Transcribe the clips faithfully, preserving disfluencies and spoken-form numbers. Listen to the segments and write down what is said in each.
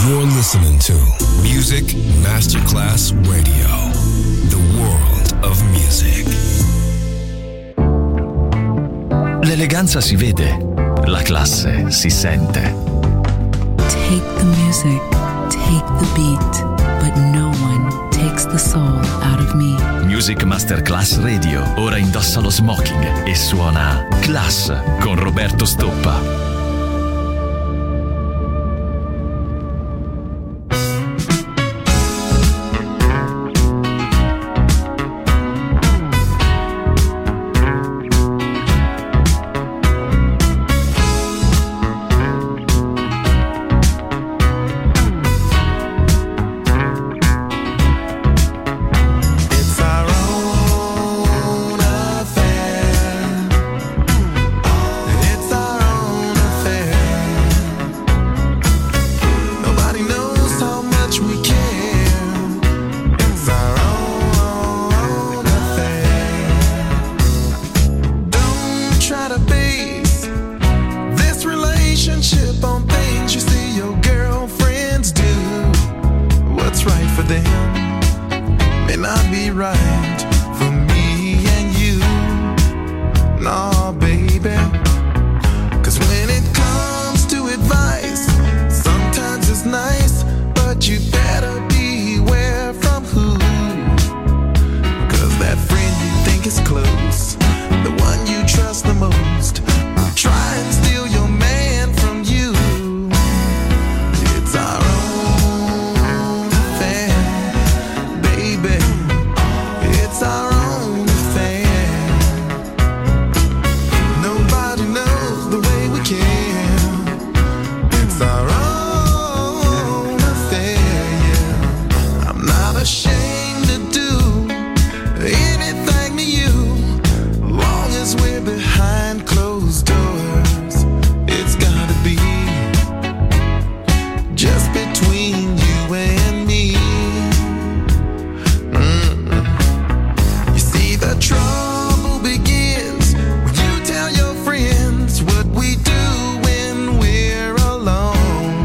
You're listening to Music Masterclass Radio, the world of music. L'eleganza si vede, la classe si sente. Take the music, take the beat, but no one takes the soul out of me. Music Masterclass Radio ora indossa lo smoking e suona Class con Roberto Stoppa. What we do when we're alone.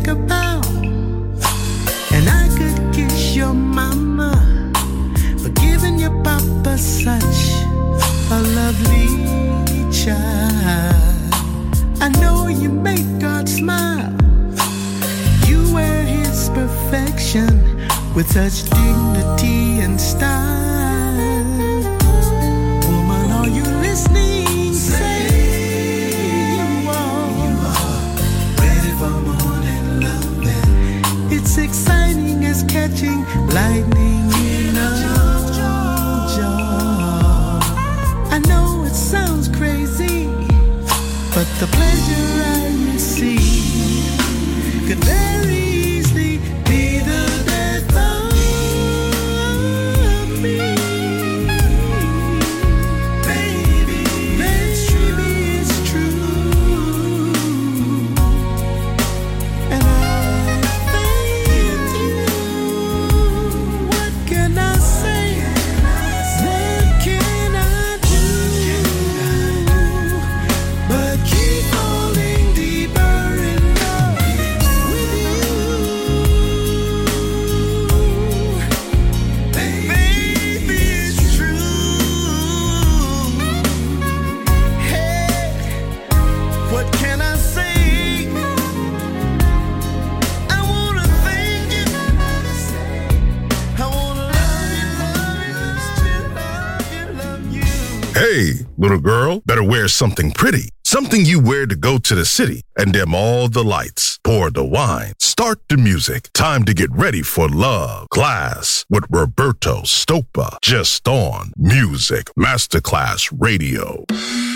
take a bow, and I could kiss your mama for giving your papa such a lovely child. I know you make God smile. You wear his perfection with such dignity and style. Woman, are you listening? Say you are, you are ready for morning loving. It's exciting as catching lightning in a jar. I know it sounds crazy, but the pleasure I receive could very easily be the death of me. Baby, baby, it's true. And I thank you. What can I say? What can I do? But keep falling deeper in love with you. Baby, it's true. Hey, what can I say? I wanna thank you. I wanna love you, love you, still love you, love you. Hey, little girl, better wear something pretty. Something you wear to go to the city and dim all the lights. Pour the wine. Start the music. Time to get ready for love. Class with Roberto Stoppa. Just on Music Masterclass Radio.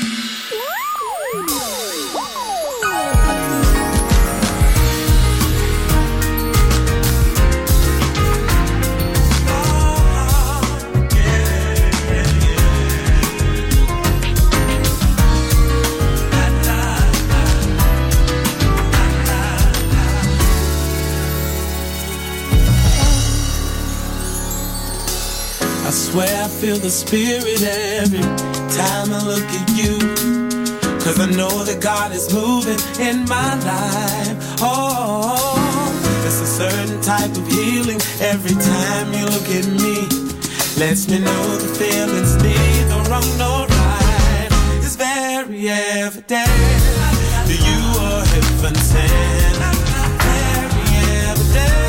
I swear I feel the spirit every time I look at you. Cause I know that God is moving in my life. Oh, there's a certain type of healing every time you look at me. Lets me know the feeling's neither wrong nor right. It's very evident that you are heaven sent. Very evident.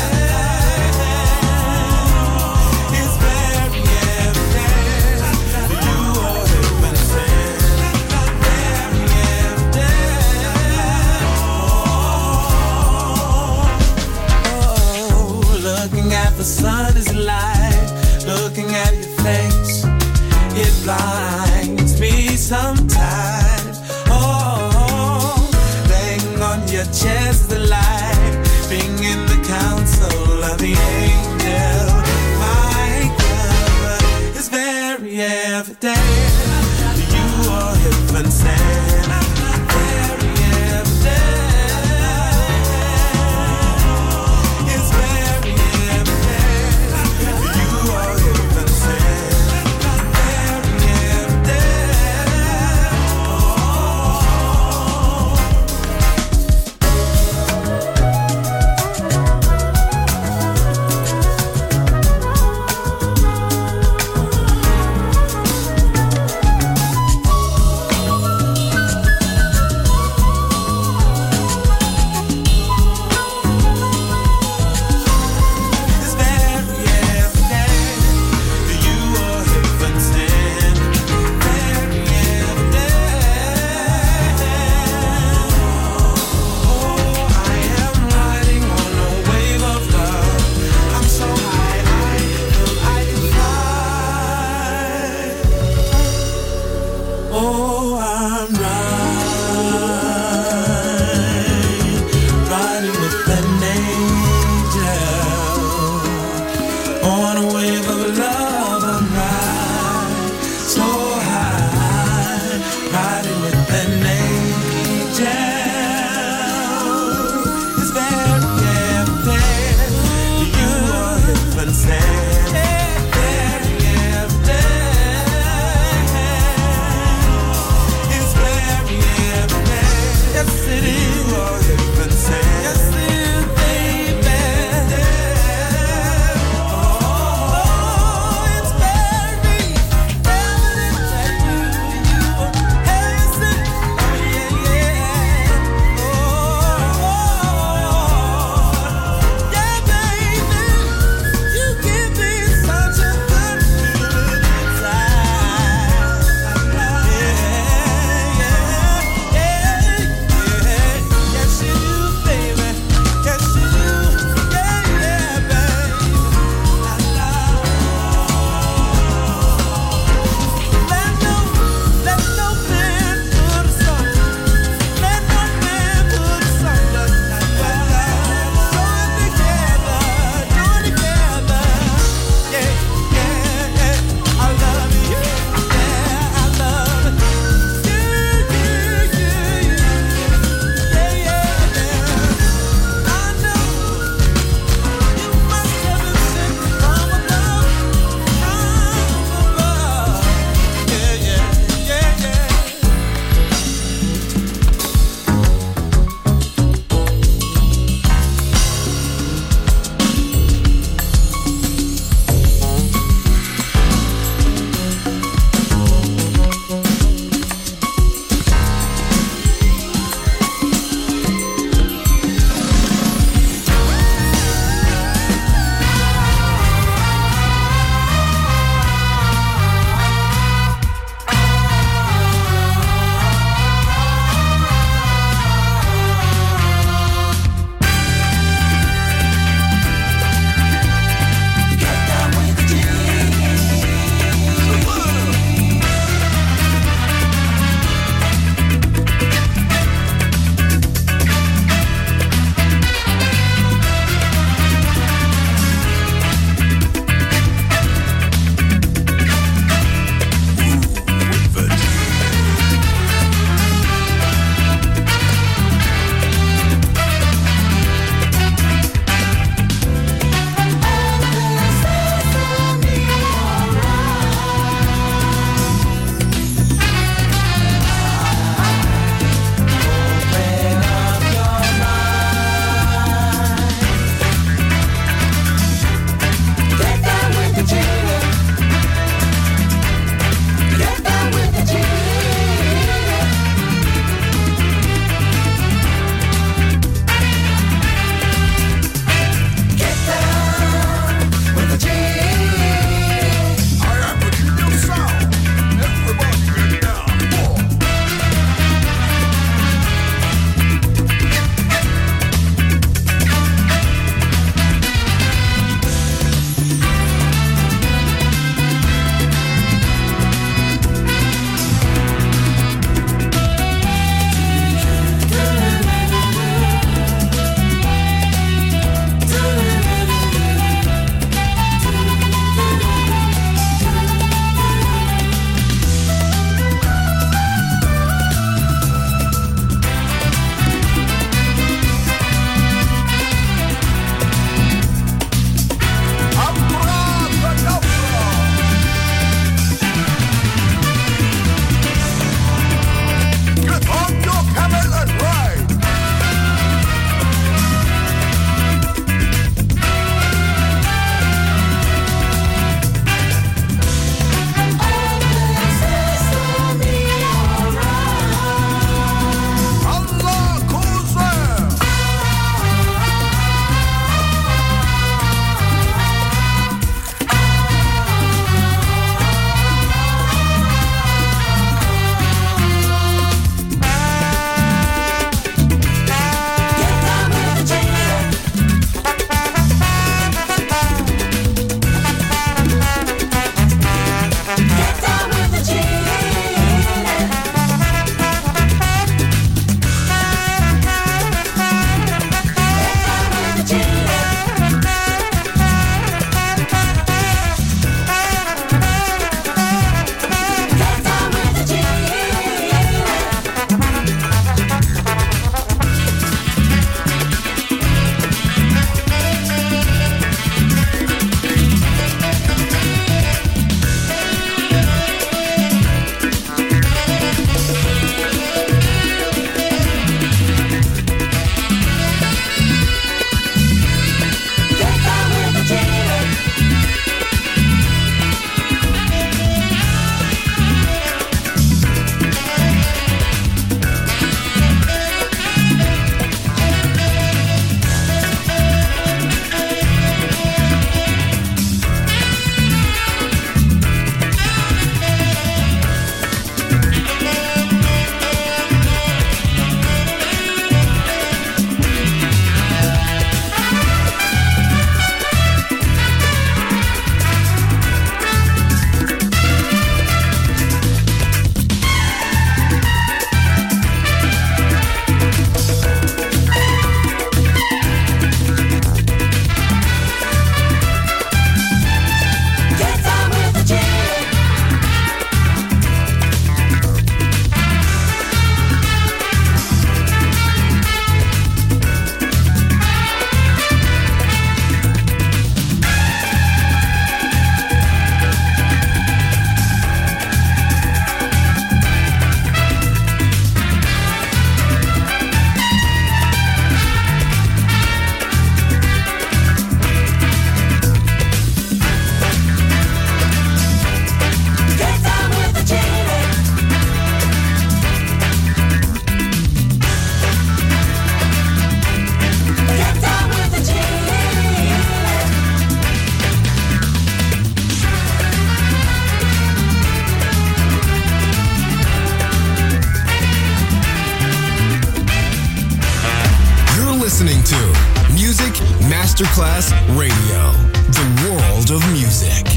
It's very evident that you are heaven sent. Very evident. Oh, looking at the sun is light. Looking at your face, it blinds me sometimes. Oh, laying on your chest. listening to Music Masterclass Radio, the world of music.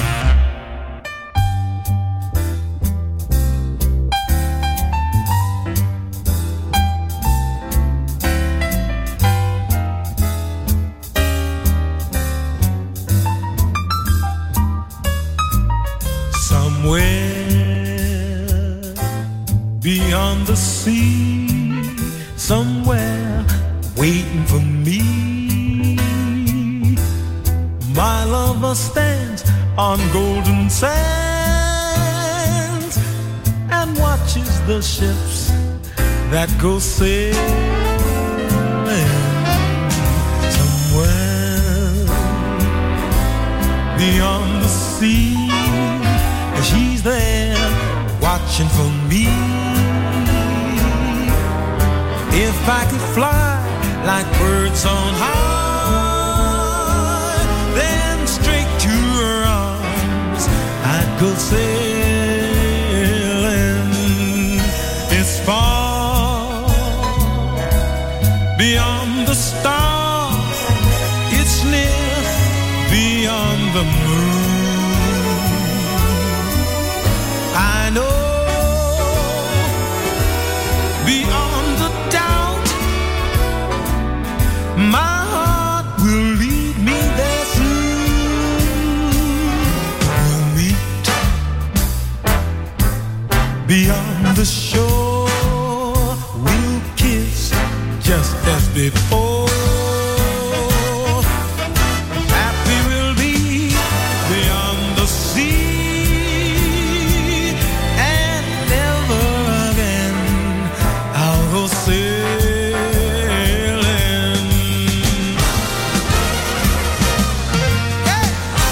Beyond the sea, somewhere waiting for me, my lover stands on golden sands and watches the ships that go sailing. Somewhere beyond the sea, she's there watching for me. If I could fly like birds on high, then straight to her arms I'd go sailing. It's far beyond the stars, it's near beyond the moon. I know beyond the doubt, my heart will lead me there soon. We'll meet beyond the shore, we'll kiss just as before. Happy we'll be beyond the sea, and never again I'll go sailing. Yeah.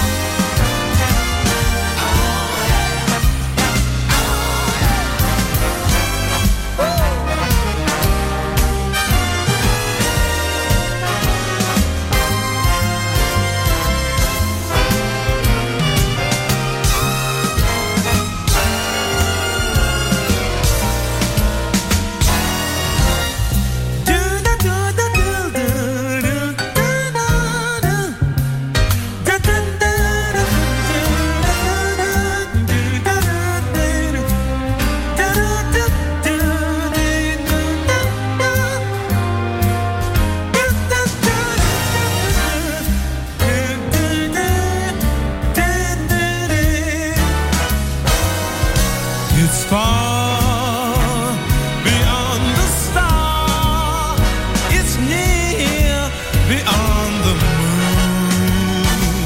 It's far beyond the star, it's near beyond the moon.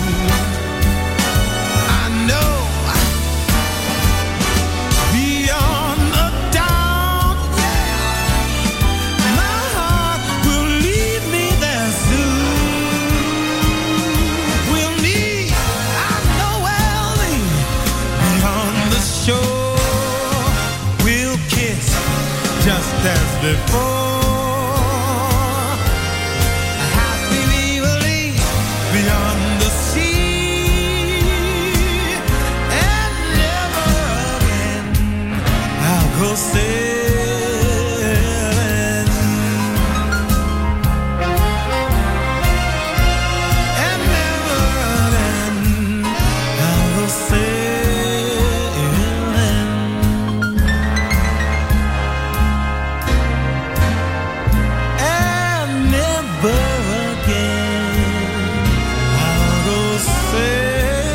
I know beyond a doubt, yeah, my heart will lead me there soon. We'll meet, I know we'll meet beyond the shore. Just as before, happily we'll leave beyond the sea, and never again I'll go sailing, and never again I'll go sailing.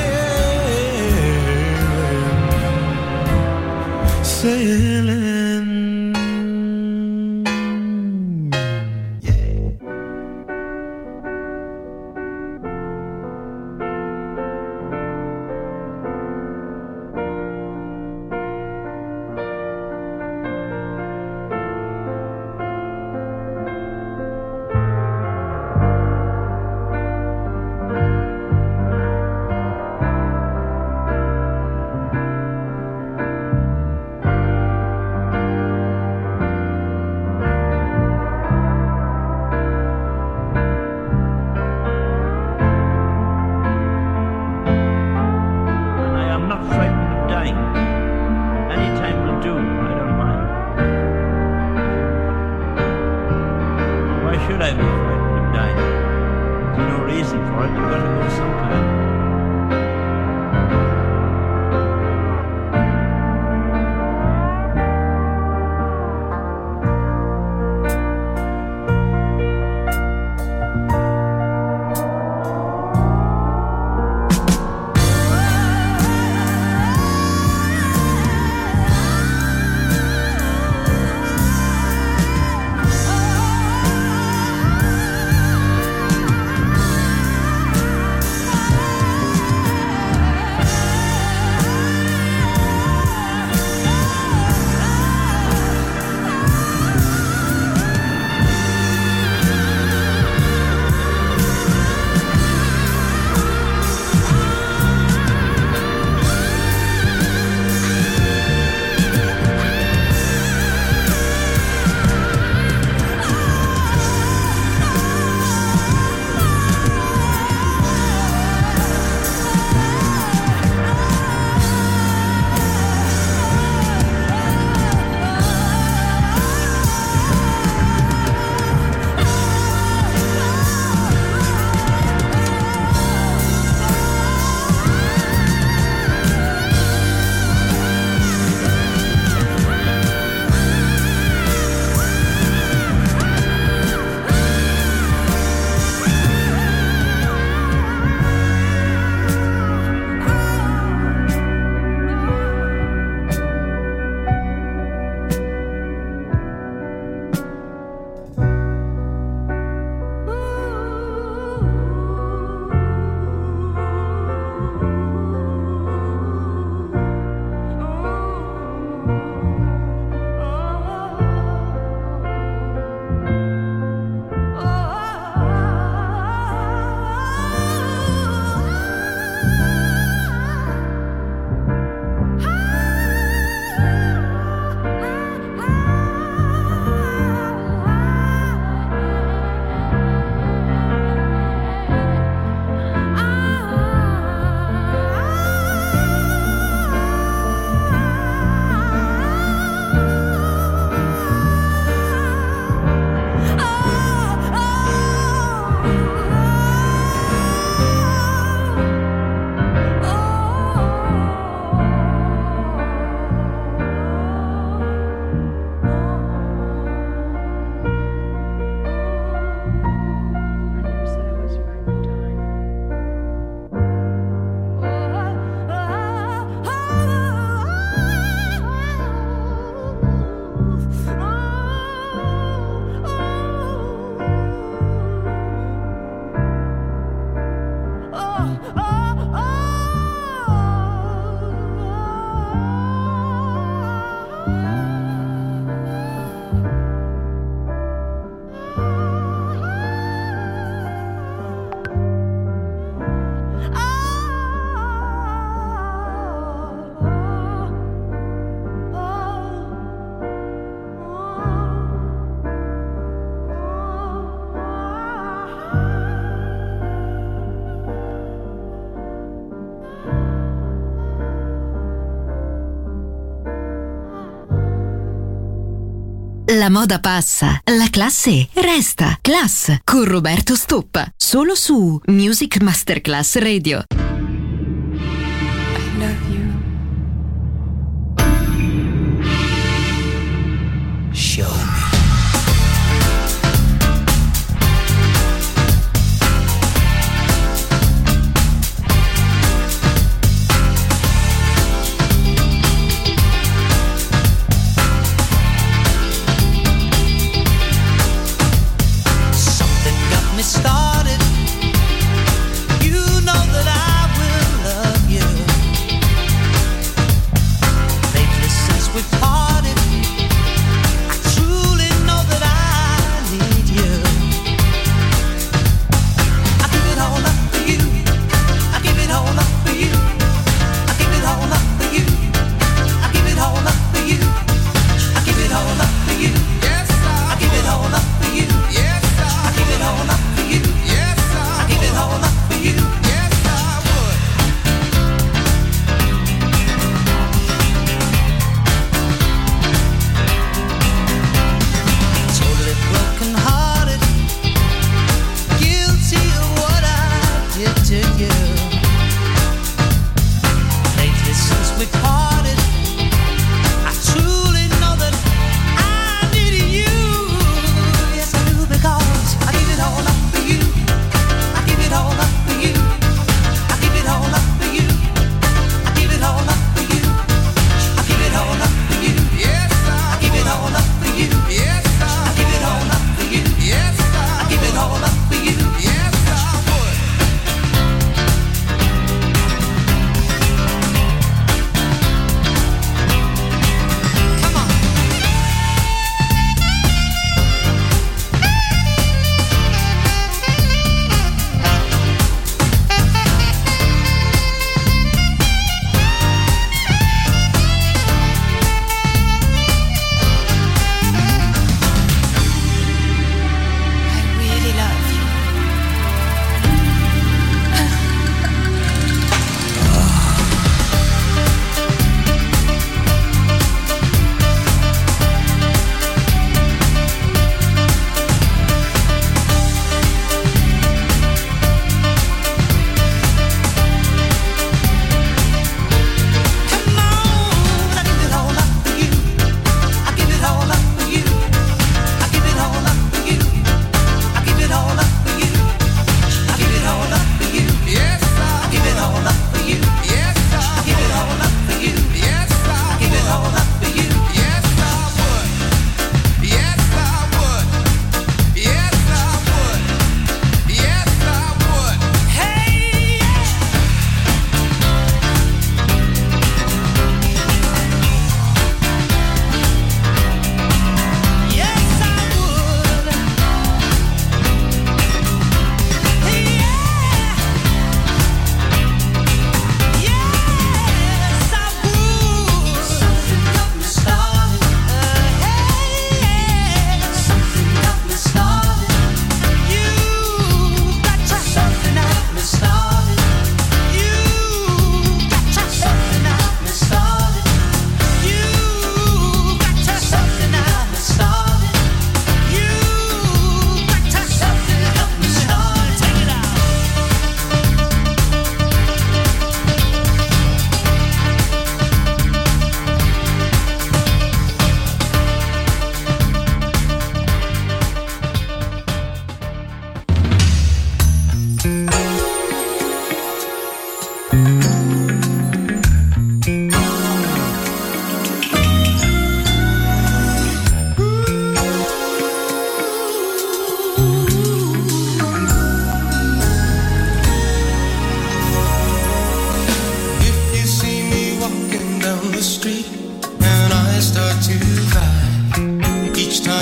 Sailing. should I be frightened of dying? There's no reason for it. You've got to go sometime. La moda passa, la classe resta. Class con Roberto Stoppa, solo su Music Masterclass Radio. I love you. Show me. Started, you know that I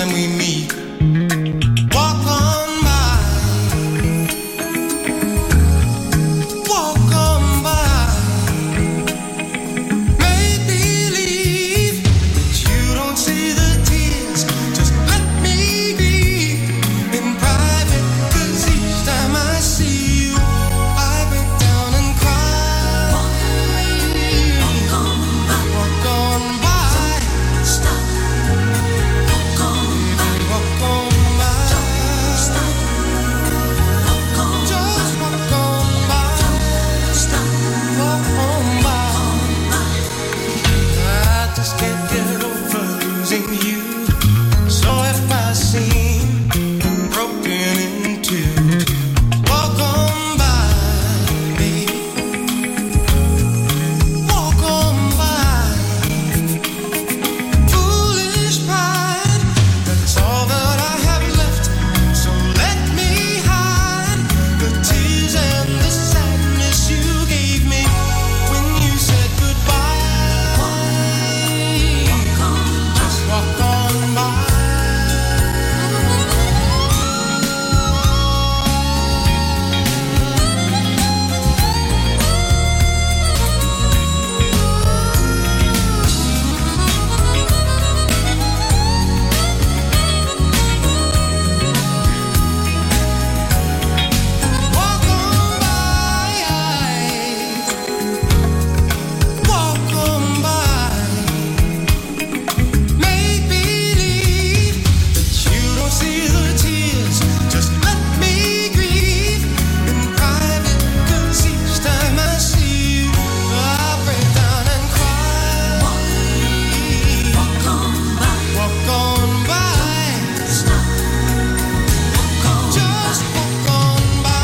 time we meet. Walk on by, walk on by. Make believe that you don't see the tears. Just let me be in private, 'cause each time I see you, I break down and cry. Walk on by, walk on by. Stop. Walk on by, walk on by. Don't stop. Walk on, just walk on by. Don't stop. Walk on by. I just can't get over losing you. So if I seem broken in two, walk on by, baby. Walk on by. Foolish pride, that's all that I have left. So let me hide the tears and the sadness you gave me when you said goodbye. Walk on, just walk on by. Walk on by, walk on by. Make believe that you don't see the tears. Just let me grieve in private, 'cause each time I see you, I break down and cry. Walk on by, walk on by. Stop. Walk on, just walk on by.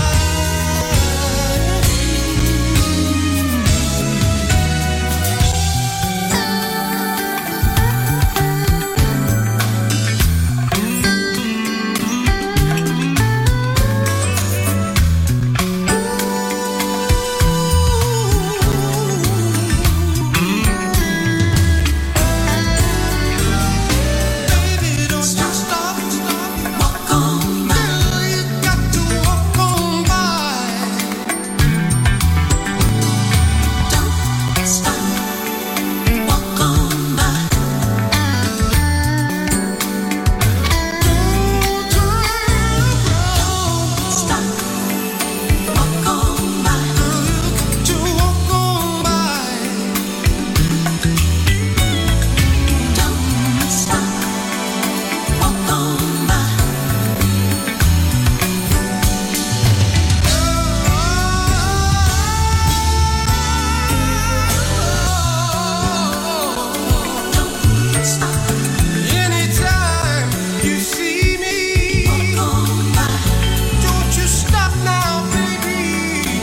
Baby, don't stop, stop, stop. Walk on by. You got to walk on by. Don't stop. Walk on by. Don't stop. Walk on by. You got to walk on by. Don't stop. Walk on by. Don't stop. Anytime you see me, walk on by. Don't you stop now, baby.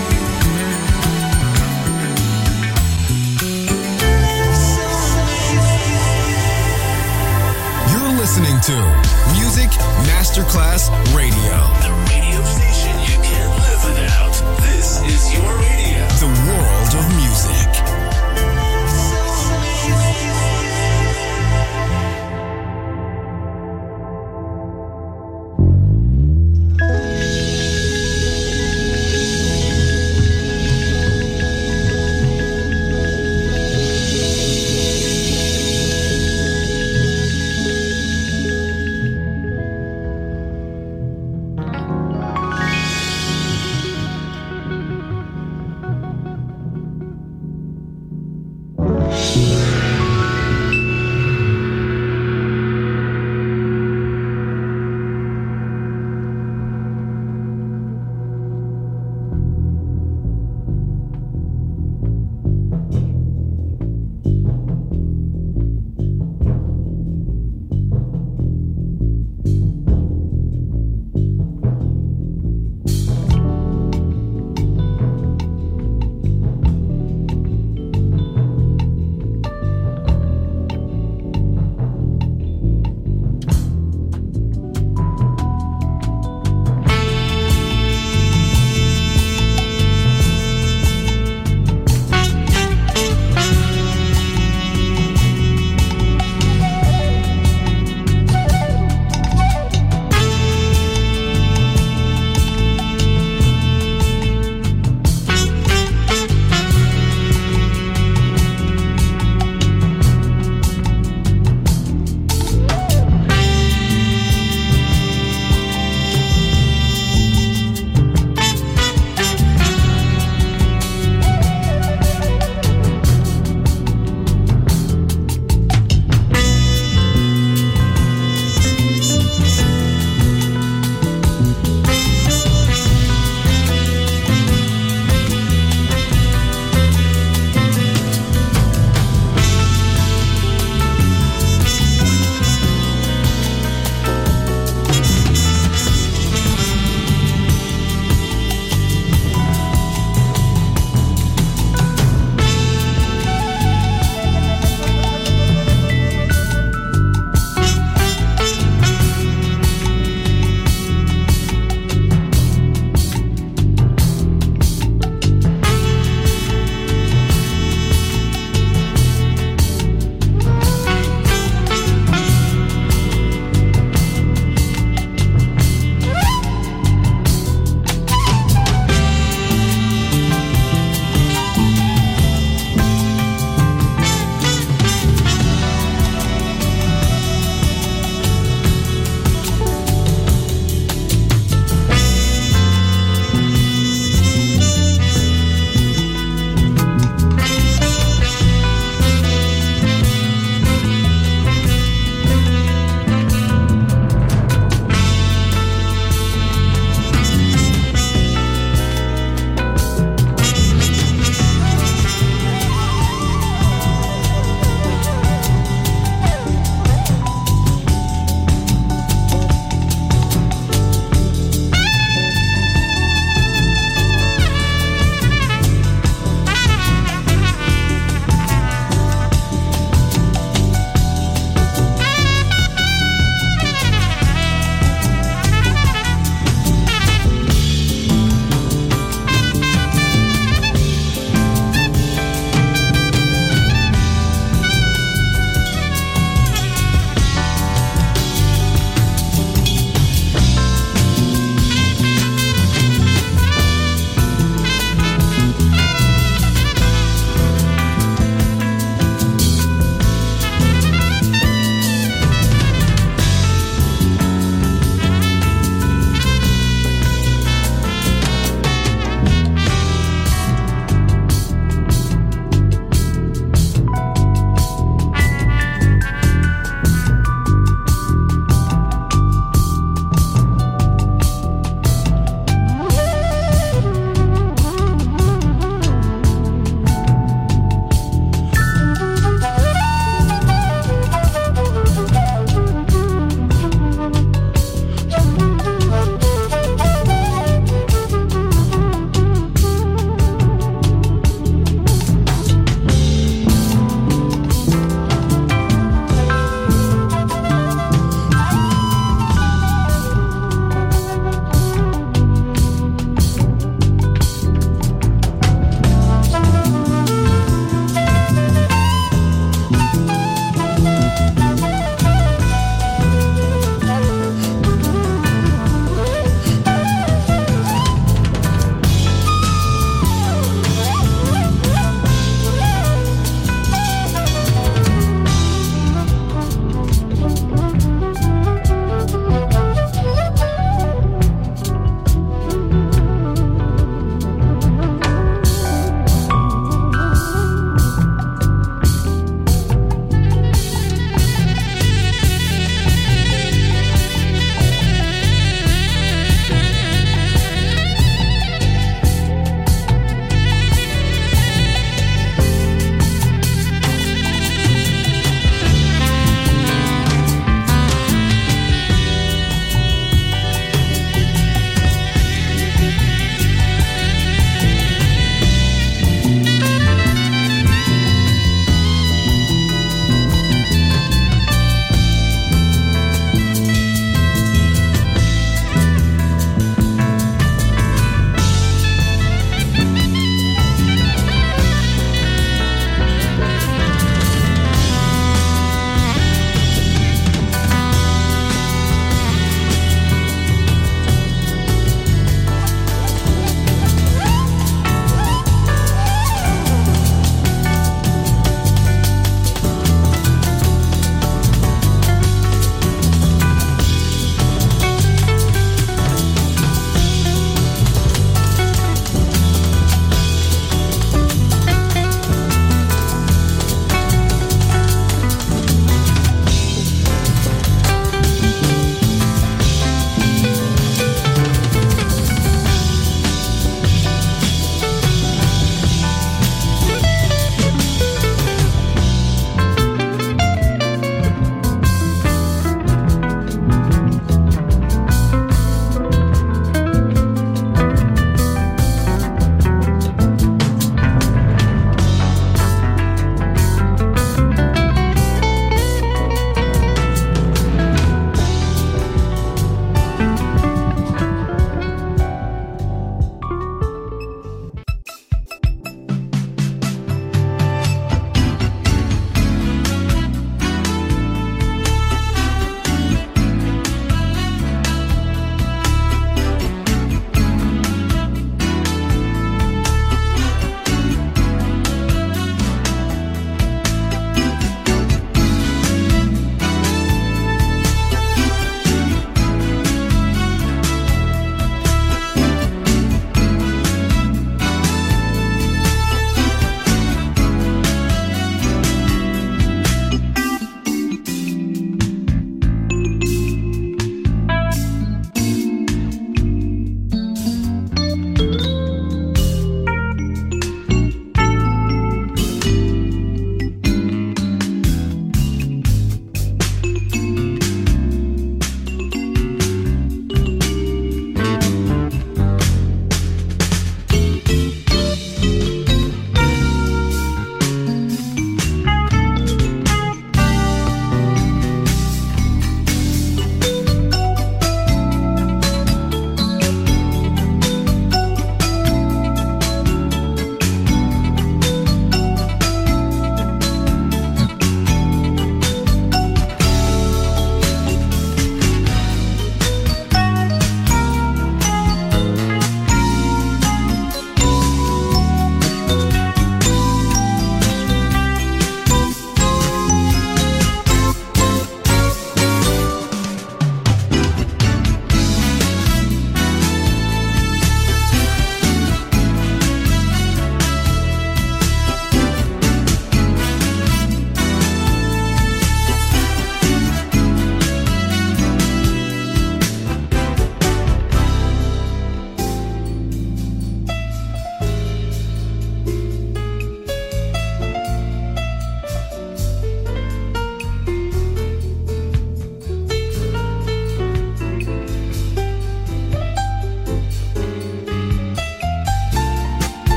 You're listening to Music Masterclass Radio. The radio station you can't live without. This is your radio. The world of music.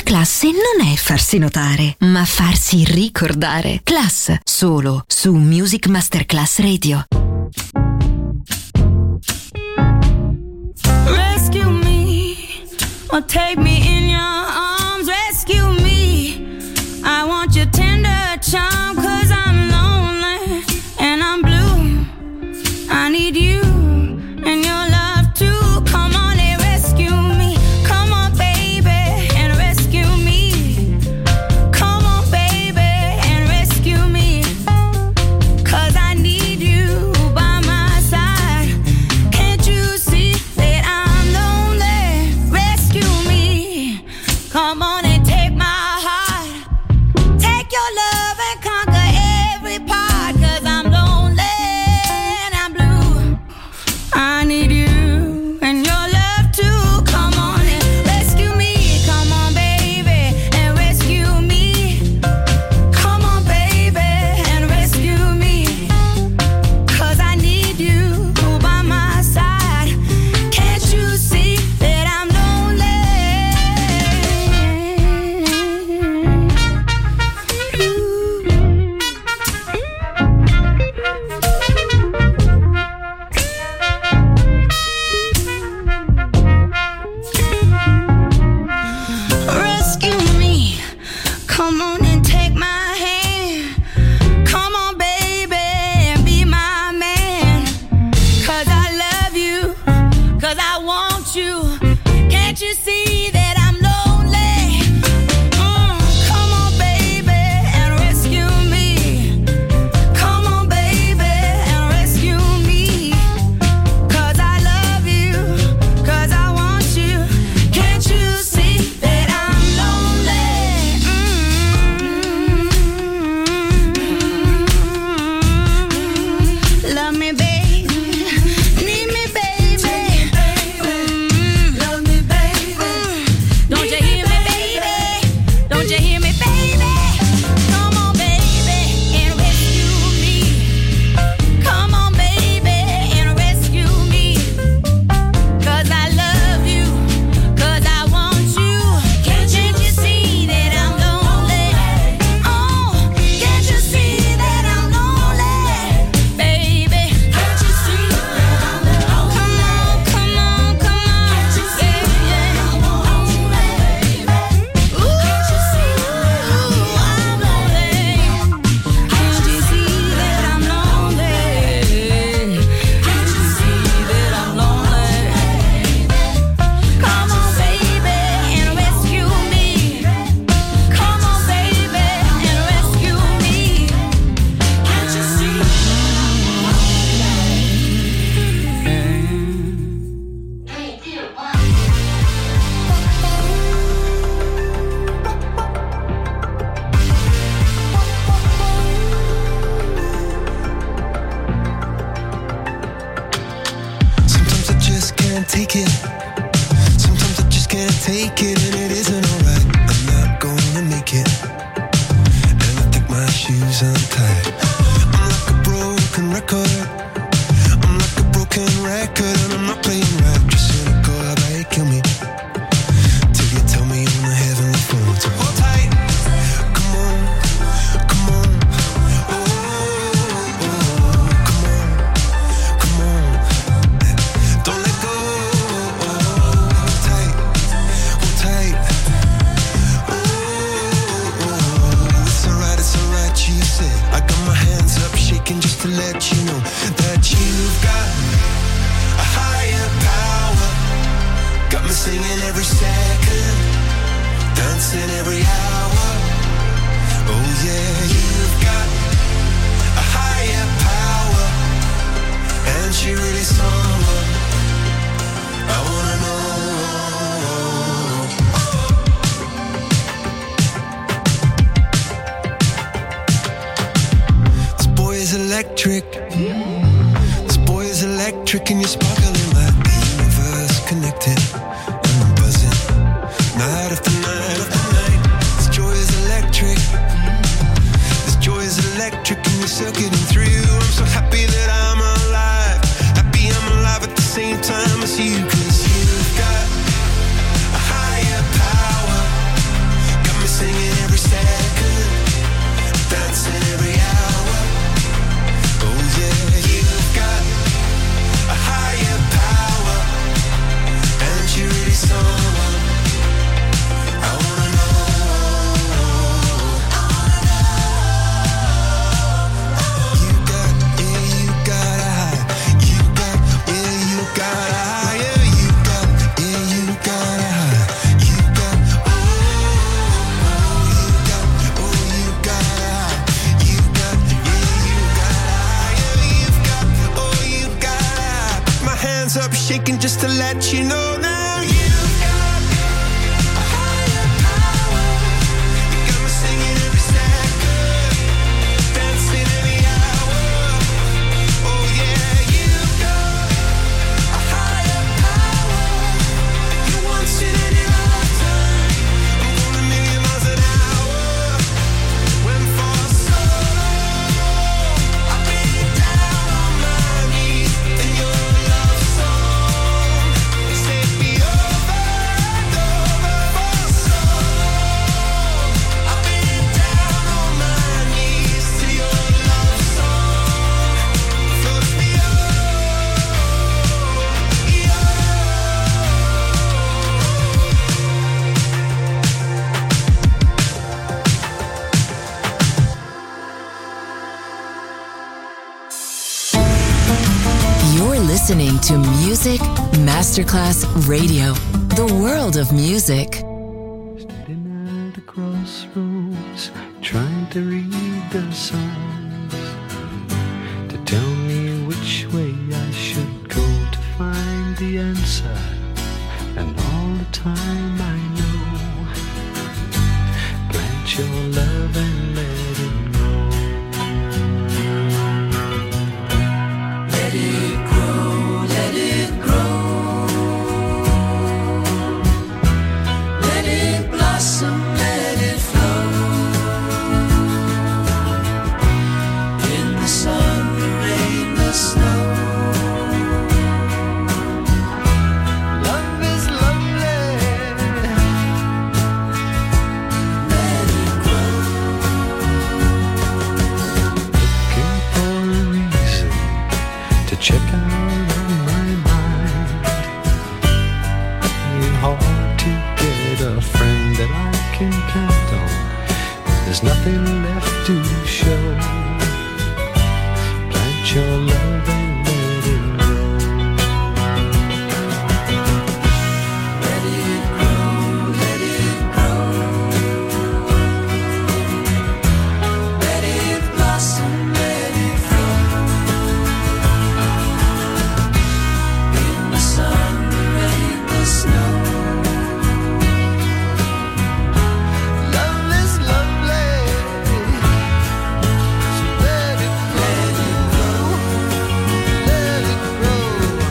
classe non è farsi notare, ma farsi ricordare. Class, solo su Music Masterclass Radio. Rescue me, or take me in your arms. Rescue me, I want your tender charm, 'cause I'm lonely and I'm blue. I need you and your love too. Come on and rescue me. Come on, baby, and rescue me. Come on, baby, and rescue me. 'Cause I need you by my side. Can't you see that I'm lonely? Rescue me. Come on and take my heart. Take your love and conquer every part. 'Cause I'm lonely and I'm blue. I need you and your love too. Come on and rescue me. Come on, baby, and rescue me. Come on, baby, and rescue me. 'Cause I need you by my side. Can't you see that I'm lonely? Rescue me. Come on and take my hand. Come on, baby, and be my man. 'Cause I love you, 'cause I want you. Can't you see that I'm lonely? Mm, come on, baby, and rescue me. Come on, baby, and rescue me. 'Cause I love you, 'cause I want you. Can't you see that I'm lonely? Mm. Love me, baby. Need me, baby. Mm. Love me, baby. Don't you hear me, baby? Don't you hear me, baby? Come on, baby, and rescue me. Come on, baby, and rescue me. 'Cause I love you, 'cause I want you. Can't you see that I'm lonely? Oh, can't you see that I'm lonely? Baby, can't you see that I'm lonely? Come on, come on, come on. Can't you see that I'm lonely? Ooh, can't you see that I'm lonely? Can't you see that I'm lonely? Can't you see that I'm lonely? Come on, baby, and rescue me. Come on, baby, and rescue me. Can't you see? Sometimes I just can't take it. Sometimes I just can't take it, and it isn't alright. I'm not gonna make it, and I think my shoes untied. I'm like a broken record. I'm like a broken record, and I'm not playing right. Just cynical, how about you kill me till you tell me on the heavenly phone to hold tight. Come on, come on. Oh, oh, oh, come on, come on. Don't let go. Hold tight, hold tight. Oh, oh, oh. It's alright, it's alright, you said. I got my hands up, shaking just to let you know that you've got a higher power. Got me singing every second, dancing every hour. Oh yeah, you've got a higher power, and she really someone I wanna know. This boy is electric. This boy is electric, and you're sparkling like the universe connected. And I'm buzzing night after night after night. This joy is electric. This joy is electric, and you're circuiting through. I'm so happy that I'm alive. Happy I'm alive at the same time as you. 'Cause you've got a higher power. singing every second, dancing every hour. Oh yeah, you've got a higher power, and you really someone I wanna know. You got, yeah, you got a high. You got, yeah, you got a higher. You got, yeah, you got a high. You got, oh, oh, you got, oh, you got a high. You got, yeah, you got a higher. You've got, oh, you got a high. My hands up shaking just to let you know now. You've got a higher power. You got me singing every second, dancing every hour. Oh yeah, you've got a higher power. You want it in your lifetime. I'm going a million miles an hour. When for so long I've been down on my knees in your love song. You set me over and over for so long. I've been down on my knees to your love song. Floats me You're listening to Music Masterclass Radio, the world of music. Standing at a crossroads, trying to read the signs to tell me which way I should go to find the answer. And all the time I know, plant your love and let it grow. Let it grow, let it grow. Let it blossom, let it flow. In the sun, the rain, the snow. Love is lovely. Let it grow. Looking for a reason to check out of my mind. It's hard to get a friend that I can count on. There's nothing left to show. Plant your love and let it grow. Let it grow, let it grow. Let it blossom, let it flow. In the sun, the rain, the snow. Love is lovely. So let it grow, let it grow.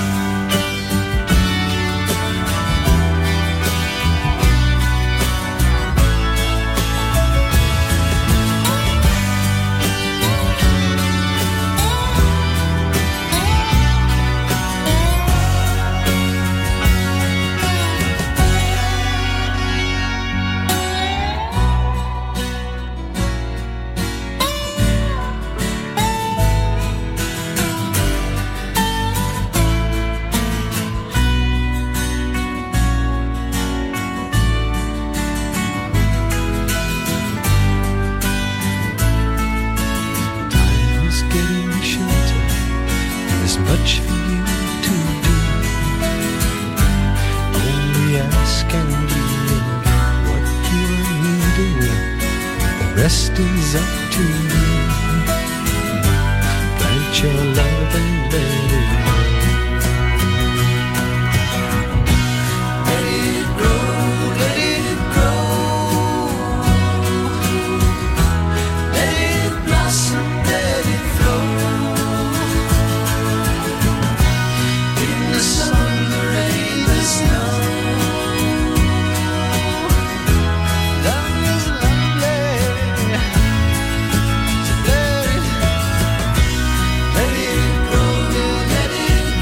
Time is getting shorter. There's much for you to do. Only ask and you what you are needing. The rest is up to you. Plant your love and let it grow. Let it grow, let it grow. Let it blossom, let it flow. In the sun, the rain, the snow. Love is lovely. So let it, let it grow, let it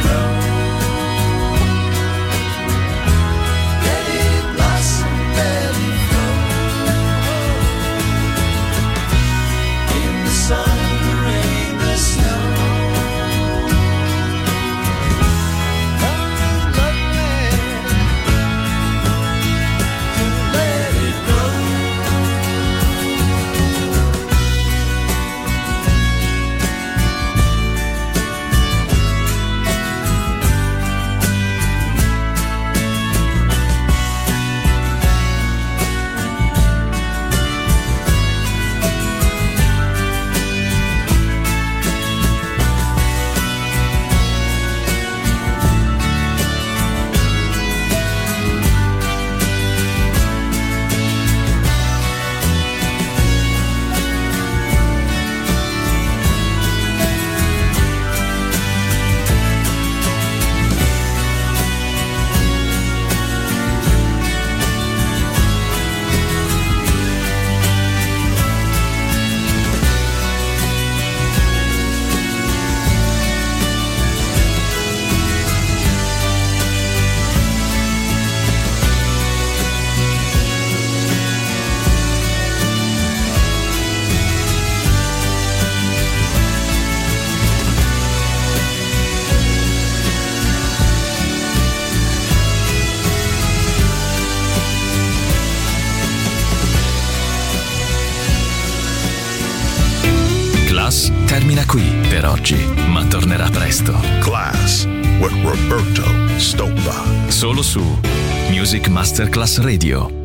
termina qui per oggi, ma tornerà presto. Class with Roberto Stoppa. Solo su Music Masterclass Radio.